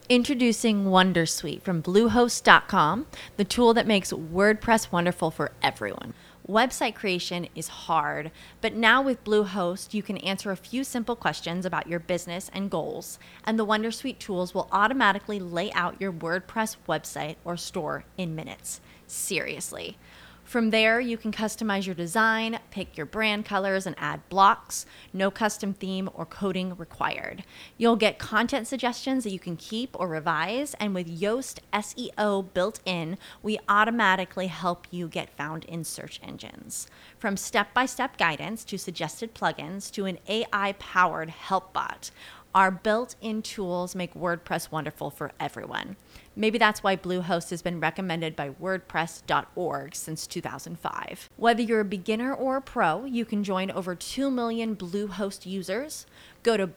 Introducing Wondersuite from Bluehost.com, the tool that makes WordPress wonderful for everyone. Website creation is hard, but now with Bluehost, you can answer a few simple questions about your business and goals, and the Wondersuite tools will automatically lay out your WordPress website or store in minutes. Seriously. From there, you can customize your design, pick your brand colors, and add blocks. No custom theme or coding required. You'll get content suggestions that you can keep or revise, and with Yoast SEO built in, we automatically help you get found in search engines. From step-by-step guidance to suggested plugins to an AI-powered help bot, our built-in tools make WordPress wonderful for everyone. Maybe that's why Bluehost has been recommended by WordPress.org since 2005. Whether you're a beginner or a pro, you can join over 2 million Bluehost users. Go to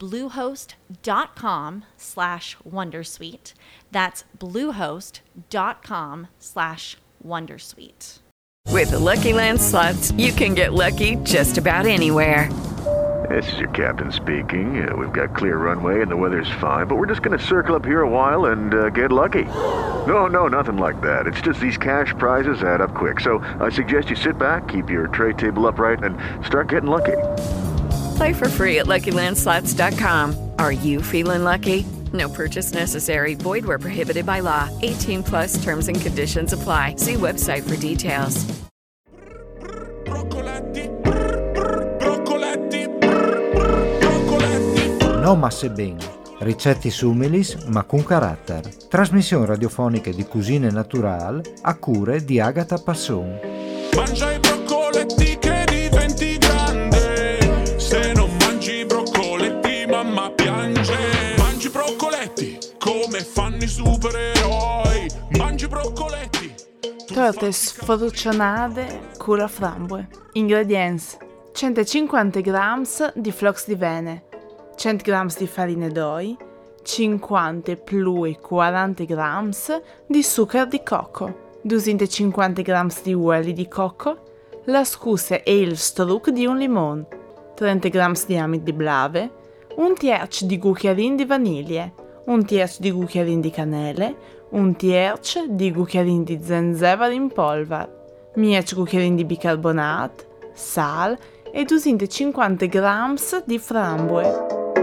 bluehost.com/wondersuite. That's bluehost.com/wondersuite. With the Lucky Land Slots, you can get lucky just about anywhere. This is your captain speaking. We've got clear runway and the weather's fine, but we're just going to circle up here a while and get lucky. No, nothing like that. It's just these cash prizes add up quick. So I suggest you sit back, keep your tray table upright, and start getting lucky. Play for free at LuckyLandSlots.com. Are you feeling lucky? No purchase necessary. Void where prohibited by law. 18 plus terms and conditions apply. See website for details. No masse ben, ricette sumilis ma con carattere. Trasmissioni radiofoniche di cucine natural a cure di Agata Passon. Mangia i broccoletti che diventi grande. Se non mangi i broccoletti mamma piange. Mangi broccoletti come fanno i supereroi. Mangi broccoletti. Torte sfrucionate con la framboe. Ingredienti: 150 g di flox di vene, 100 g di farina d'oi, 50 più 40 g di zucchero di cocco, 250 g di uoli di cocco, la scusa e il struc di un limone, 30 g di amido di blave, un terzo di cucchiaino di vaniglia, un terzo di cucchiaino di canele, un terzo di cucchiaino di zenzero in polvere, 10 cucchiaini di bicarbonato, sal e 250 g di framboe.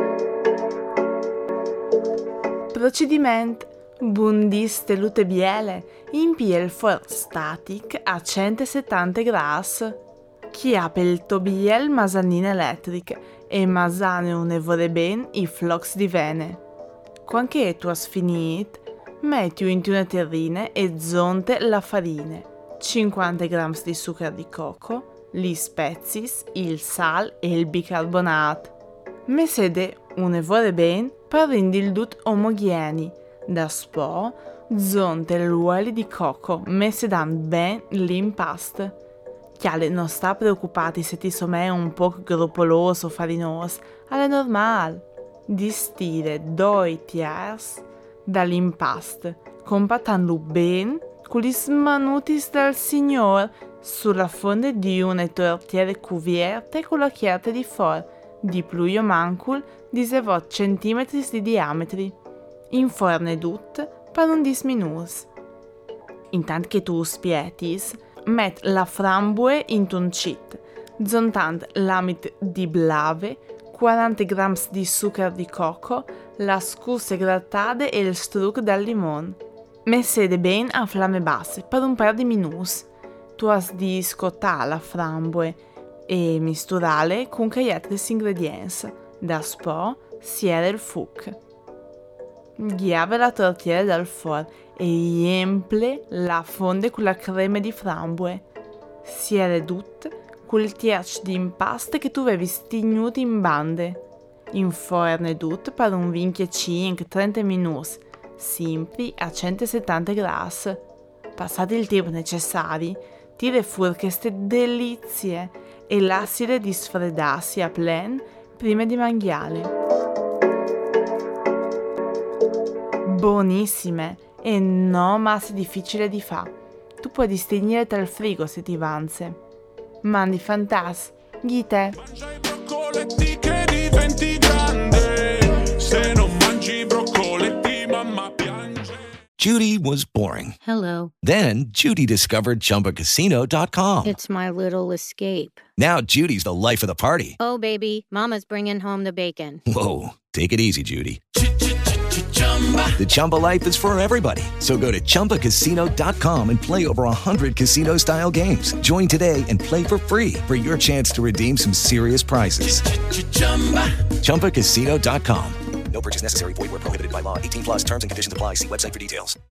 Procedimento: bundiste lute biele, impie il forno static a 170 gradi. Chiappe il tobiel masanina elettrica e masane un'evore ben i flox di vene. Quando tu hai finito, metti in una terrina e zonte la farina, 50 g di zucchero di cocco, gli spezie, il sal e il bicarbonato. Mesede un'evore ben per rendere il tutto omogenei. Da spo, zonte l'uoli di cocco, messe dan ben l'impasto. Chiale non sta preoccupati se ti somè un po' gruppoloso o farinoso, è normale. Distire 2 tiers dall'impasto, compatando ben con gli smanutis del signor sulla fonte di una tortiera cuvierta con la chiarte di fuori, di più o mancul di 7 cm di diametro. Inforne tutto per un 10 minuti. Intanto che tu spietis, met la framboe in un cit, zontant l'amido di blave, 40 g di zucchero di cocco, la scusa grattate e il struc del limone. Messete ben a fiamme basse per un paio di minuti. Tu has di scottare la framboe e misturare con gli altri ingredienti. Da spo siere il fuoco. Ghiave la tortiera dal forno e riemple la fonte con la crema di framboe. Siere tutto con il terzo di impasto che tu avevi stignuto in bande. Inforne tutto per un 25-30 minuti, sempre a 170 gradi. Passati il tempo necessario, tira fuori queste delizie e lasciale di sfredarsi a plen prima di mangiare. Buonissime e non massa difficile di fare. Tu puoi distinguere dal frigo se ti vanze. Mandi fantas, ghite. Mangia i broccoletti che diventi grande. Se non mangi i broccoletti mamma Judy was boring. Hello. Then Judy discovered ChumbaCasino.com. It's my little escape. Now Judy's the life of the party. Oh, baby, mama's bringing home the bacon. Whoa, take it easy, Judy. The Chumba life is for everybody. So go to ChumbaCasino.com and play over 100 casino-style games. Join today and play for free for your chance to redeem some serious prizes. ChumbaCasino.com. No purchase necessary. Void where prohibited by law. 18+ terms and conditions apply. See website for details.